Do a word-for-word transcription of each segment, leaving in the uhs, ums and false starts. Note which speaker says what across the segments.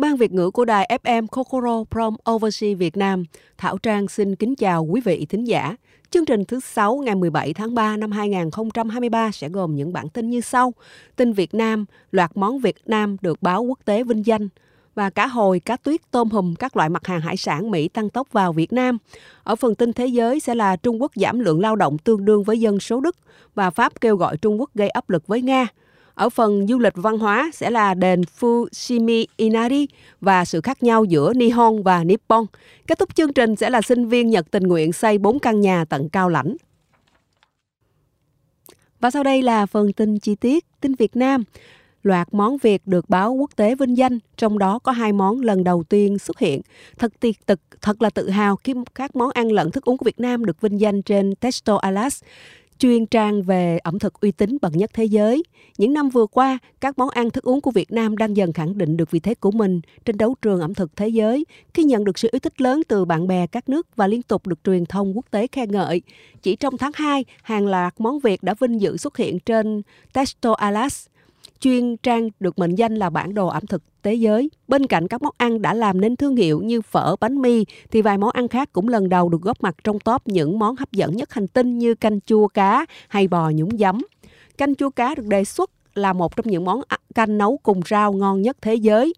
Speaker 1: Ban Việt ngữ của đài ép em Kokoro from Overseas Việt Nam, Thảo Trang xin kính chào quý vị thính giả. Chương trình thứ sáu ngày mười bảy tháng ba năm hai nghìn không trăm hai mươi ba sẽ gồm những bản tin như sau. Tin Việt Nam, loạt món Việt Nam được báo quốc tế vinh danh. Và cá hồi, cá tuyết, tôm hùm, các loại mặt hàng hải sản Mỹ tăng tốc vào Việt Nam. Ở phần tin thế giới sẽ là Trung Quốc giảm lượng lao động tương đương với dân số Đức và Pháp kêu gọi Trung Quốc gây áp lực với Nga. Ở phần du lịch văn hóa sẽ là đền Fushimi Inari và sự khác nhau giữa Nihon và Nippon. Kết thúc chương trình sẽ là sinh viên Nhật tình nguyện xây bốn căn nhà tận Cao Lãnh. Và sau đây là phần tin chi tiết. Tin Việt Nam. Loạt món Việt được báo quốc tế vinh danh, trong đó có hai món lần đầu tiên xuất hiện. Thật tiệt tực, thật là tự hào khi các món ăn lẫn thức uống của Việt Nam được vinh danh trên Testo Atlas, chuyên trang về ẩm thực uy tín bậc nhất thế giới. Những năm vừa qua, các món ăn thức uống của Việt Nam đang dần khẳng định được vị thế của mình trên đấu trường ẩm thực thế giới, khi nhận được sự yêu thích lớn từ bạn bè các nước và liên tục được truyền thông quốc tế khen ngợi. Chỉ trong tháng hai, hàng loạt món Việt đã vinh dự xuất hiện trên Testo Atlas, chuyên trang được mệnh danh là bản đồ ẩm thực thế giới. Bên cạnh các món ăn đã làm nên thương hiệu như phở, bánh mì, thì vài món ăn khác cũng lần đầu được góp mặt trong top những món hấp dẫn nhất hành tinh như canh chua cá hay bò nhúng giấm. Canh chua cá được đề xuất là một trong những món canh nấu cùng rau ngon nhất thế giới.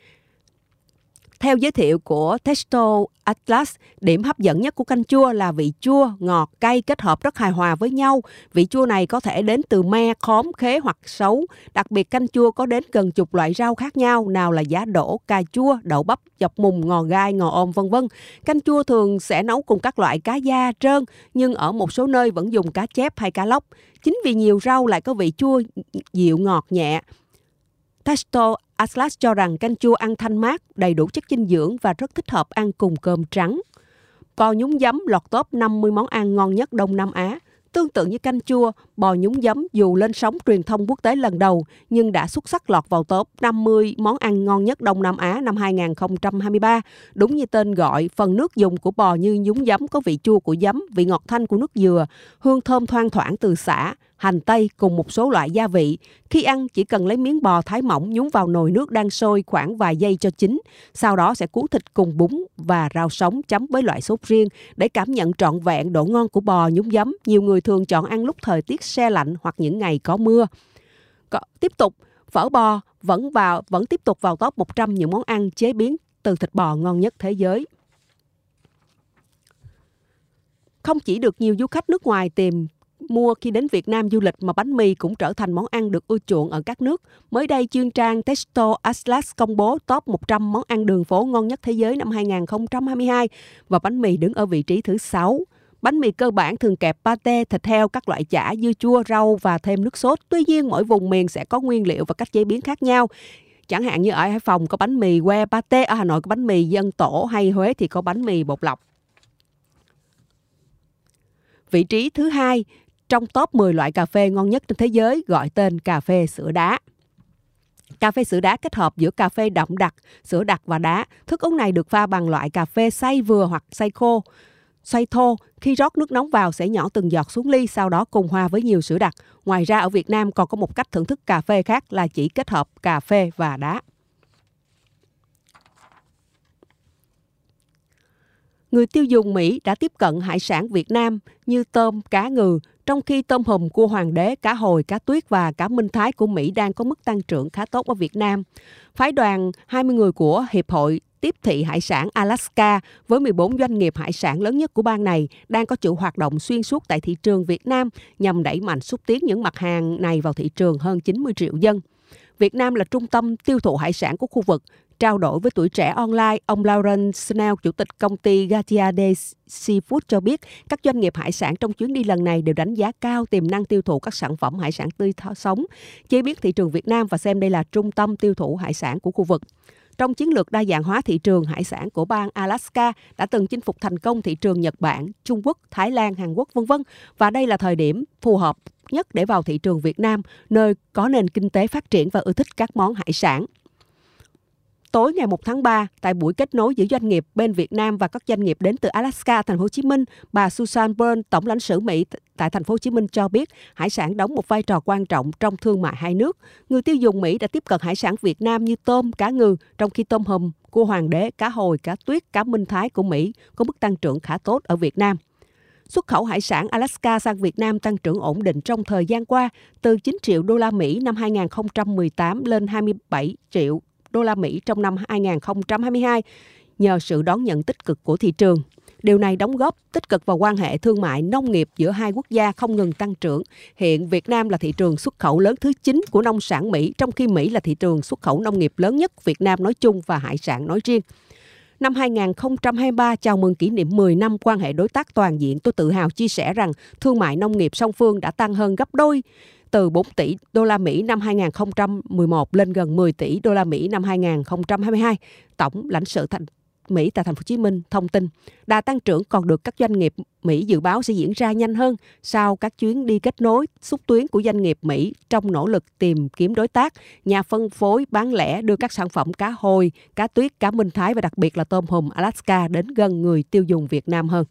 Speaker 1: Theo giới thiệu của Testo Atlas, điểm hấp dẫn nhất của canh chua là vị chua, ngọt, cay kết hợp rất hài hòa với nhau. Vị chua này có thể đến từ me, khóm, khế hoặc sấu. Đặc biệt canh chua có đến gần chục loại rau khác nhau, nào là giá đỗ, cà chua, đậu bắp, dọc mùng, ngò gai, ngò ôm vân vân. Canh chua thường sẽ nấu cùng các loại cá da, trơn, nhưng ở một số nơi vẫn dùng cá chép hay cá lóc. Chính vì nhiều rau lại có vị chua dịu ngọt nhẹ. Testo Atlas cho rằng canh chua ăn thanh mát, đầy đủ chất dinh dưỡng và rất thích hợp ăn cùng cơm trắng. Bò nhúng giấm lọt top năm mươi món ăn ngon nhất Đông Nam Á. Tương tự như canh chua, bò nhúng giấm dù lên sóng truyền thông quốc tế lần đầu nhưng đã xuất sắc lọt vào top năm mươi món ăn ngon nhất Đông Nam Á năm hai nghìn không trăm hai mươi ba. Đúng như tên gọi, phần nước dùng của bò như nhúng giấm có vị chua của giấm, vị ngọt thanh của nước dừa, hương thơm thoang thoảng từ sả, hành tây cùng một số loại gia vị. Khi ăn chỉ cần lấy miếng bò thái mỏng nhúng vào nồi nước đang sôi khoảng vài giây cho chín. Sau đó sẽ cuốn thịt cùng bún và rau sống chấm với loại sốt riêng để cảm nhận trọn vẹn độ ngon của bò nhúng giấm. Nhiều người thường chọn ăn lúc thời tiết se lạnh hoặc những ngày có mưa. Có, tiếp tục, phở bò vẫn vào vẫn tiếp tục vào top một trăm những món ăn chế biến từ thịt bò ngon nhất thế giới. Không chỉ được nhiều du khách nước ngoài tìm mua khi đến Việt Nam du lịch mà bánh mì cũng trở thành món ăn được ưa chuộng ở các nước. Mới đây, chuyên trang Testo Atlas công bố top một trăm món ăn đường phố ngon nhất thế giới năm hai nghìn không trăm hai mươi hai và bánh mì đứng ở vị trí thứ sáu. Bánh mì cơ bản thường kẹp pate, thịt heo, các loại chả, dưa chua, rau và thêm nước sốt. Tuy nhiên, mỗi vùng miền sẽ có nguyên liệu và cách chế biến khác nhau. Chẳng hạn như ở Hải Phòng có bánh mì que pate, ở Hà Nội có bánh mì dân tổ hay Huế thì có bánh mì bột lọc. Vị trí thứ hai trong top mười loại cà phê ngon nhất trên thế giới gọi tên cà phê sữa đá. Cà phê sữa đá kết hợp giữa cà phê đậm đặc, sữa đặc và đá. Thức uống này được pha bằng loại cà phê xay vừa hoặc xay khô, xay thô. Khi rót nước nóng vào sẽ nhỏ từng giọt xuống ly, sau đó cùng hòa với nhiều sữa đặc. Ngoài ra ở Việt Nam còn có một cách thưởng thức cà phê khác là chỉ kết hợp cà phê và đá. Người tiêu dùng Mỹ đã tiếp cận hải sản Việt Nam như tôm, cá ngừ, trong khi tôm hùm, cua hoàng đế, cá hồi, cá tuyết và cá minh thái của Mỹ đang có mức tăng trưởng khá tốt ở Việt Nam. Phái đoàn hai mươi người của Hiệp hội Tiếp thị Hải sản Alaska với mười bốn doanh nghiệp hải sản lớn nhất của bang này đang có chuỗi hoạt động xuyên suốt tại thị trường Việt Nam nhằm đẩy mạnh xúc tiến những mặt hàng này vào thị trường hơn chín mươi triệu dân. Việt Nam là trung tâm tiêu thụ hải sản của khu vực. Trao đổi với Tuổi Trẻ Online, ông Lauren Snell, chủ tịch công ty Gatia Day Seafood cho biết các doanh nghiệp hải sản trong chuyến đi lần này đều đánh giá cao tiềm năng tiêu thụ các sản phẩm hải sản tươi sống, chế biến thị trường Việt Nam và xem đây là trung tâm tiêu thụ hải sản của khu vực. Trong chiến lược đa dạng hóa thị trường hải sản của bang Alaska đã từng chinh phục thành công thị trường Nhật Bản, Trung Quốc, Thái Lan, Hàn Quốc, vân vân và đây là thời điểm phù hợp nhất để vào thị trường Việt Nam, nơi có nền kinh tế phát triển và ưa thích các món hải sản. Tối ngày một tháng ba, tại buổi kết nối giữa doanh nghiệp bên Việt Nam và các doanh nghiệp đến từ Alaska, thành phố Hồ Chí Minh, bà Susan Byrne, tổng lãnh sự Mỹ tại thành phố Hồ Chí Minh cho biết hải sản đóng một vai trò quan trọng trong thương mại hai nước. Người tiêu dùng Mỹ đã tiếp cận hải sản Việt Nam như tôm, cá ngừ, trong khi tôm hùm, cua hoàng đế, cá hồi, cá tuyết, cá minh thái của Mỹ có mức tăng trưởng khá tốt ở Việt Nam. Xuất khẩu hải sản Alaska sang Việt Nam tăng trưởng ổn định trong thời gian qua, từ chín triệu đô la Mỹ năm hai nghìn không trăm mười tám lên hai mươi bảy triệu đô la Mỹ trong năm hai nghìn không trăm hai mươi hai nhờ sự đón nhận tích cực của thị trường. Điều này đóng góp tích cực vào quan hệ thương mại nông nghiệp giữa hai quốc gia không ngừng tăng trưởng. Hiện Việt Nam là thị trường xuất khẩu lớn thứ chín của nông sản Mỹ, trong khi Mỹ là thị trường xuất khẩu nông nghiệp lớn nhất Việt Nam nói chung và hải sản nói riêng. Năm hai nghìn không trăm hai mươi ba chào mừng kỷ niệm mười năm quan hệ đối tác toàn diện, tôi tự hào chia sẻ rằng thương mại nông nghiệp song phương đã tăng hơn gấp đôi, từ bốn tỷ đô la Mỹ năm hai nghìn không trăm mười một lên gần mười tỷ đô la Mỹ năm hai nghìn không trăm hai mươi hai. Tổng lãnh sự thành Mỹ tại thành phố Hồ Chí Minh thông tin, đà tăng trưởng còn được các doanh nghiệp Mỹ dự báo sẽ diễn ra nhanh hơn sau các chuyến đi kết nối xúc tiến của doanh nghiệp Mỹ trong nỗ lực tìm kiếm đối tác, nhà phân phối bán lẻ đưa các sản phẩm cá hồi, cá tuyết, cá minh thái và đặc biệt là tôm hùm Alaska đến gần người tiêu dùng Việt Nam hơn.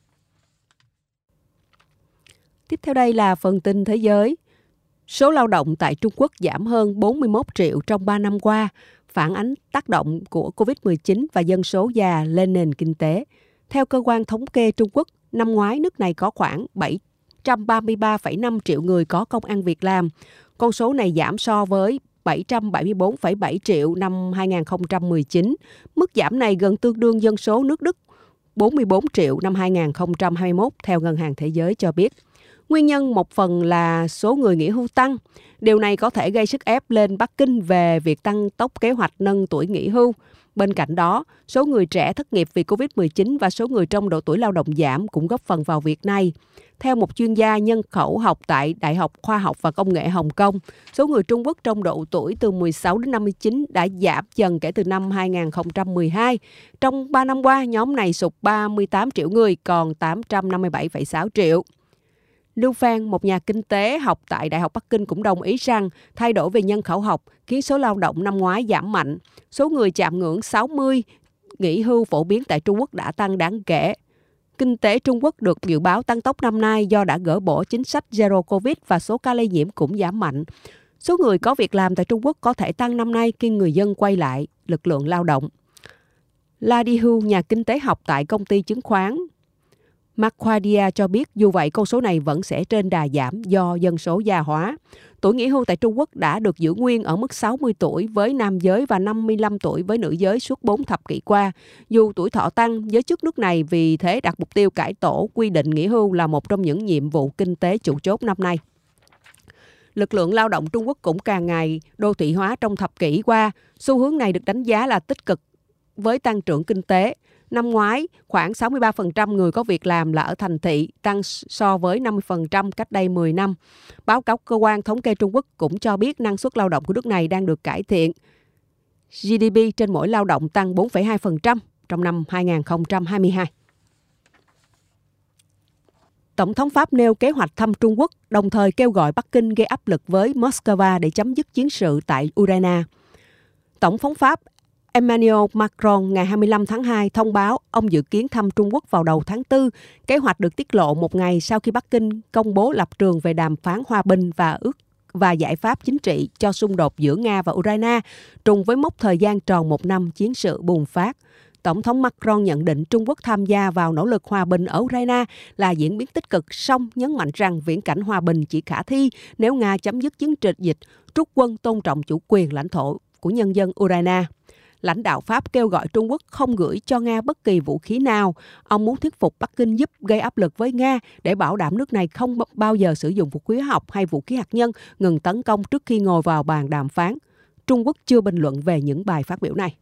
Speaker 1: Tiếp theo đây là phần tin thế giới. Số lao động tại Trung Quốc giảm hơn bốn mươi mốt triệu trong ba năm qua, phản ánh tác động của covid mười chín và dân số già lên nền kinh tế. Theo cơ quan thống kê Trung Quốc, năm ngoái nước này có khoảng bảy trăm ba mươi ba phẩy năm triệu người có công ăn việc làm. Con số này giảm so với bảy trăm bảy mươi bốn phẩy bảy triệu năm hai nghìn không trăm mười chín. Mức giảm này gần tương đương dân số nước Đức bốn mươi bốn triệu năm hai nghìn không trăm hai mươi mốt, theo Ngân hàng Thế giới cho biết. Nguyên nhân một phần là số người nghỉ hưu tăng. Điều này có thể gây sức ép lên Bắc Kinh về việc tăng tốc kế hoạch nâng tuổi nghỉ hưu. Bên cạnh đó, số người trẻ thất nghiệp vì covid mười chín và số người trong độ tuổi lao động giảm cũng góp phần vào việc này. Theo một chuyên gia nhân khẩu học tại Đại học Khoa học và Công nghệ Hồng Kông, số người Trung Quốc trong độ tuổi từ mười sáu đến năm mươi chín đã giảm dần kể từ năm hai nghìn không trăm mười hai. Trong ba năm qua, nhóm này sụt ba mươi tám triệu người, còn tám trăm năm mươi bảy phẩy sáu triệu. Lưu Phan, một nhà kinh tế học tại Đại học Bắc Kinh cũng đồng ý rằng thay đổi về nhân khẩu học khiến số lao động năm ngoái giảm mạnh. Số người chạm ngưỡng sáu mươi nghỉ hưu phổ biến tại Trung Quốc đã tăng đáng kể. Kinh tế Trung Quốc được dự báo tăng tốc năm nay do đã gỡ bỏ chính sách Zero Covid và số ca lây nhiễm cũng giảm mạnh. Số người có việc làm tại Trung Quốc có thể tăng năm nay khi người dân quay lại lực lượng lao động. La Dihu, nhà kinh tế học tại công ty chứng khoán Macquarie cho biết dù vậy con số này vẫn sẽ trên đà giảm do dân số già hóa. Tuổi nghỉ hưu tại Trung Quốc đã được giữ nguyên ở mức sáu mươi tuổi với nam giới và năm mươi lăm tuổi với nữ giới suốt bốn thập kỷ qua. Dù tuổi thọ tăng, giới chức nước này vì thế đặt mục tiêu cải tổ quy định nghỉ hưu là một trong những nhiệm vụ kinh tế chủ chốt năm nay. Lực lượng lao động Trung Quốc cũng càng ngày đô thị hóa trong thập kỷ qua. Xu hướng này được đánh giá là tích cực với tăng trưởng kinh tế. Năm ngoái, khoảng sáu mươi ba phần trăm người có việc làm là ở thành thị, tăng so với năm mươi phần trăm cách đây mười năm. Báo cáo cơ quan thống kê Trung Quốc cũng cho biết năng suất lao động của nước này đang được cải thiện. giê đê pê trên mỗi lao động tăng bốn phẩy hai phần trăm trong năm hai nghìn không trăm hai mươi hai. Tổng thống Pháp nêu kế hoạch thăm Trung Quốc, đồng thời kêu gọi Bắc Kinh gây áp lực với Moscow để chấm dứt chiến sự tại Ukraine. Tổng thống Pháp Emmanuel Macron ngày hai mươi lăm tháng hai thông báo ông dự kiến thăm Trung Quốc vào đầu tháng tư. Kế hoạch được tiết lộ một ngày sau khi Bắc Kinh công bố lập trường về đàm phán hòa bình và ước và giải pháp chính trị cho xung đột giữa Nga và Ukraine, trùng với mốc thời gian tròn một năm chiến sự bùng phát. Tổng thống Macron nhận định Trung Quốc tham gia vào nỗ lực hòa bình ở Ukraine là diễn biến tích cực, song nhấn mạnh rằng viễn cảnh hòa bình chỉ khả thi nếu Nga chấm dứt chiến dịch dịch, rút quân tôn trọng chủ quyền lãnh thổ của nhân dân Ukraine. Lãnh đạo Pháp kêu gọi Trung Quốc không gửi cho Nga bất kỳ vũ khí nào. Ông muốn thuyết phục Bắc Kinh giúp gây áp lực với Nga để bảo đảm nước này không bao giờ sử dụng vũ khí hóa học hay vũ khí hạt nhân, ngừng tấn công trước khi ngồi vào bàn đàm phán. Trung Quốc chưa bình luận về những bài phát biểu này.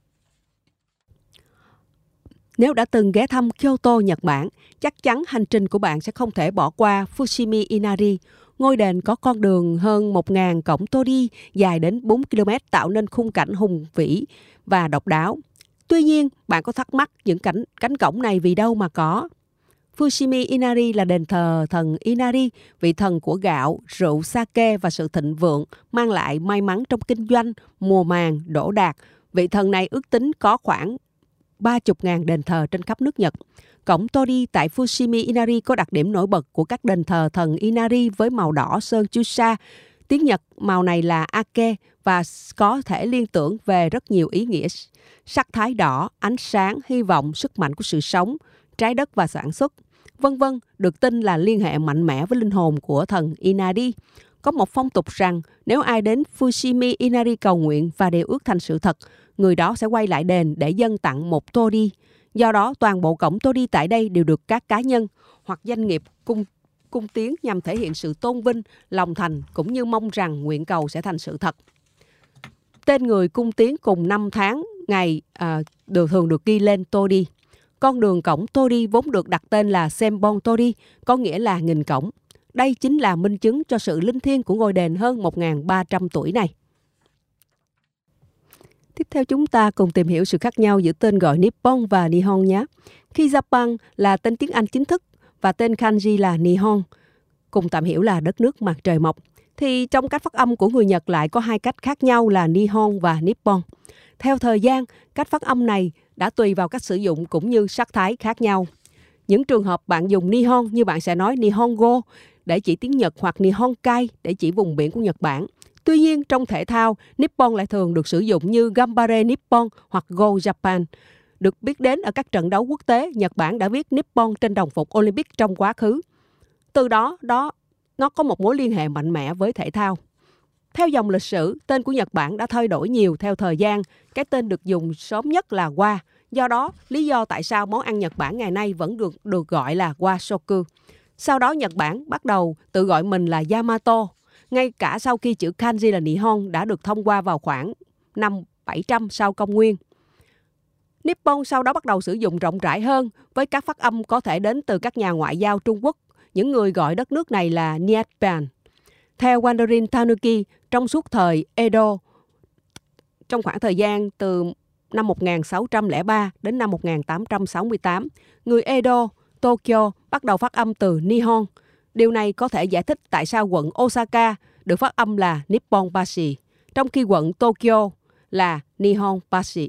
Speaker 1: Nếu đã từng ghé thăm Kyoto, Nhật Bản, chắc chắn hành trình của bạn sẽ không thể bỏ qua Fushimi Inari. Ngôi đền có con đường hơn một nghìn cổng Tori dài đến bốn ki lô mét tạo nên khung cảnh hùng vĩ và độc đáo. Tuy nhiên, bạn có thắc mắc những cảnh cánh cổng này vì đâu mà có? Fushimi Inari là đền thờ thần Inari, vị thần của gạo, rượu sake và sự thịnh vượng, mang lại may mắn trong kinh doanh, mùa màng, đỗ đạt Vị thần này ước tính có khoảng ba mươi nghìn đền thờ trên khắp nước Nhật. Cổng Tori tại Fushimi Inari có đặc điểm nổi bật của các đền thờ thần Inari với màu đỏ sơn Chusha. Tiếng Nhật màu này là Ake và có thể liên tưởng về rất nhiều ý nghĩa. Sắc thái đỏ, ánh sáng, hy vọng, sức mạnh của sự sống, trái đất và sản xuất, vân vân, được tin là liên hệ mạnh mẽ với linh hồn của thần Inari. Có một phong tục rằng nếu ai đến Fushimi Inari cầu nguyện và điều ước thành sự thật, người đó sẽ quay lại đền để dâng tặng một Tori. Do đó, toàn bộ cổng Tori tại đây đều được các cá nhân hoặc doanh nghiệp cung cung tiến nhằm thể hiện sự tôn vinh, lòng thành cũng như mong rằng nguyện cầu sẽ thành sự thật. Tên người cung tiến cùng năm tháng, ngày à, đều thường được ghi lên Tori. Con đường cổng Tori vốn được đặt tên là Senbon Tori, có nghĩa là nghìn cổng. Đây chính là minh chứng cho sự linh thiêng của ngôi đền hơn một nghìn ba trăm tuổi này. Tiếp theo chúng ta cùng tìm hiểu sự khác nhau giữa tên gọi Nippon và Nihon nhé. Khi Japan là tên tiếng Anh chính thức và tên kanji là Nihon, cùng tạm hiểu là đất nước mặt trời mọc, thì trong cách phát âm của người Nhật lại có hai cách khác nhau là Nihon và Nippon. Theo thời gian, cách phát âm này đã tùy vào cách sử dụng cũng như sắc thái khác nhau. Những trường hợp bạn dùng Nihon như bạn sẽ nói Nihongo để chỉ tiếng Nhật hoặc Nihonkai để chỉ vùng biển của Nhật Bản. Tuy nhiên, trong thể thao, Nippon lại thường được sử dụng như Gambare Nippon hoặc Go Japan. Được biết đến ở các trận đấu quốc tế, Nhật Bản đã viết Nippon trên đồng phục Olympic trong quá khứ. Từ đó, đó nó có một mối liên hệ mạnh mẽ với thể thao. Theo dòng lịch sử, tên của Nhật Bản đã thay đổi nhiều theo thời gian. Cái tên được dùng sớm nhất là Wa. Do đó, lý do tại sao món ăn Nhật Bản ngày nay vẫn được, được gọi là Washoku. Sau đó, Nhật Bản bắt đầu tự gọi mình là Yamato. Ngay cả sau khi chữ kanji là Nihon đã được thông qua vào khoảng năm bảy trăm sau công nguyên. Nippon sau đó bắt đầu sử dụng rộng rãi hơn với các phát âm có thể đến từ các nhà ngoại giao Trung Quốc. Những người gọi đất nước này là Nippon. Theo Wanderin Tanuki, trong suốt thời Edo, trong khoảng thời gian từ năm một nghìn sáu trăm lẻ ba đến năm một nghìn tám trăm sáu mươi tám, người Edo, Tokyo bắt đầu phát âm từ Nihon. Điều này có thể giải thích tại sao quận Osaka được phát âm là Nipponbashi, trong khi quận Tokyo là Nihonbashi.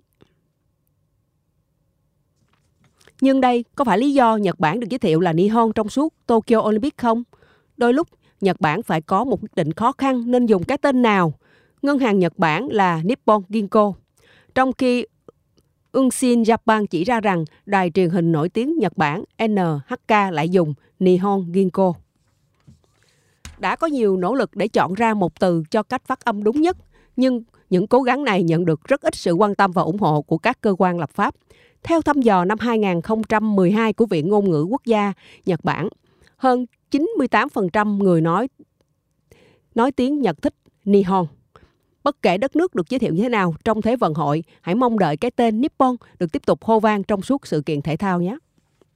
Speaker 1: Nhưng đây có phải lý do Nhật Bản được giới thiệu là Nihon trong suốt Tokyo Olympic không? Đôi lúc, Nhật Bản phải có một quyết định khó khăn nên dùng cái tên nào. Ngân hàng Nhật Bản là Nippon Ginko, trong khi Unshin Japan chỉ ra rằng đài truyền hình nổi tiếng Nhật Bản en hát ca lại dùng Nihon Ginko. Đã có nhiều nỗ lực để chọn ra một từ cho cách phát âm đúng nhất, nhưng những cố gắng này nhận được rất ít sự quan tâm và ủng hộ của các cơ quan lập pháp. Theo thăm dò năm hai nghìn không trăm mười hai của Viện Ngôn ngữ Quốc gia Nhật Bản, hơn chín mươi tám phần trăm người nói nói tiếng Nhật thích Nihon. Bất kể đất nước được giới thiệu như thế nào trong Thế vận hội, hãy mong đợi cái tên Nippon được tiếp tục hô vang trong suốt sự kiện thể thao nhé.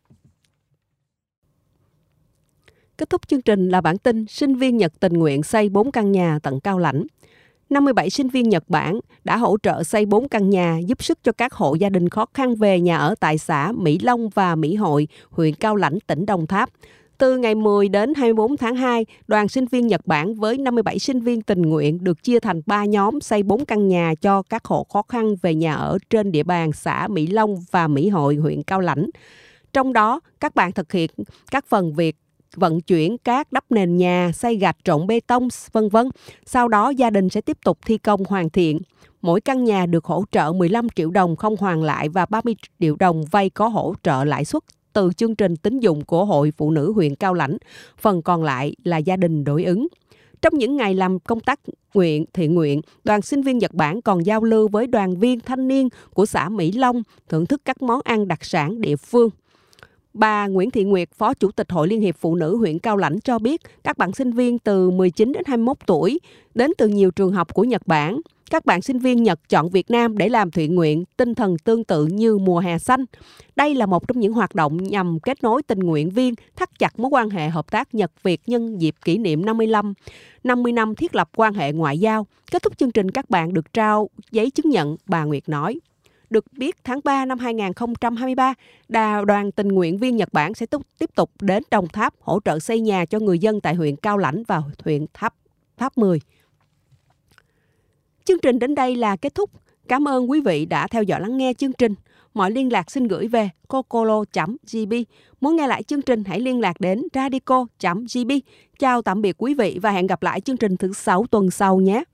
Speaker 1: Kết thúc chương trình là bản tin sinh viên Nhật tình nguyện xây bốn căn nhà tận Cao Lãnh. năm mươi bảy sinh viên Nhật Bản đã hỗ trợ xây bốn căn nhà giúp sức cho các hộ gia đình khó khăn về nhà ở tại xã Mỹ Long và Mỹ Hội, huyện Cao Lãnh, tỉnh Đồng Tháp. Từ ngày mười đến hai mươi bốn tháng hai, đoàn sinh viên Nhật Bản với năm mươi bảy sinh viên tình nguyện được chia thành ba nhóm xây bốn căn nhà cho các hộ khó khăn về nhà ở trên địa bàn xã Mỹ Long và Mỹ Hội, huyện Cao Lãnh. Trong đó, các bạn thực hiện các phần việc vận chuyển cát, đắp nền nhà, xây gạch, trộn bê tông, vân vân. Sau đó gia đình sẽ tiếp tục thi công hoàn thiện. Mỗi căn nhà được hỗ trợ mười lăm triệu đồng không hoàn lại và ba mươi triệu đồng vay có hỗ trợ lãi suất từ chương trình tín dụng của Hội Phụ nữ huyện Cao Lãnh. Phần còn lại là gia đình đối ứng. Trong những ngày làm công tác nguyện thiện nguyện, đoàn sinh viên Nhật Bản còn giao lưu với đoàn viên thanh niên của xã Mỹ Long, thưởng thức các món ăn đặc sản địa phương. Bà Nguyễn Thị Nguyệt, Phó Chủ tịch Hội Liên hiệp Phụ nữ huyện Cao Lãnh cho biết các bạn sinh viên từ mười chín đến hai mươi mốt tuổi đến từ nhiều trường học của Nhật Bản. Các bạn sinh viên Nhật chọn Việt Nam để làm thiện nguyện, tinh thần tương tự như mùa hè xanh. Đây là một trong những hoạt động nhằm kết nối tình nguyện viên, thắt chặt mối quan hệ hợp tác Nhật-Việt nhân dịp kỷ niệm năm mươi lăm, năm mươi năm thiết lập quan hệ ngoại giao. Kết thúc chương trình, các bạn được trao giấy chứng nhận, bà Nguyệt nói. Được biết, tháng ba năm hai nghìn không trăm hai mươi ba, đoàn tình nguyện viên Nhật Bản sẽ tiếp tục đến Đồng Tháp hỗ trợ xây nhà cho người dân tại huyện Cao Lãnh và huyện Tháp Tháp mười. Chương trình đến đây là kết thúc. Cảm ơn quý vị đã theo dõi lắng nghe chương trình. Mọi liên lạc xin gửi về cocolo chấm gi b. Muốn nghe lại chương trình hãy liên lạc đến radico chấm g b. Chào tạm biệt quý vị và hẹn gặp lại chương trình thứ sáu tuần sau nhé.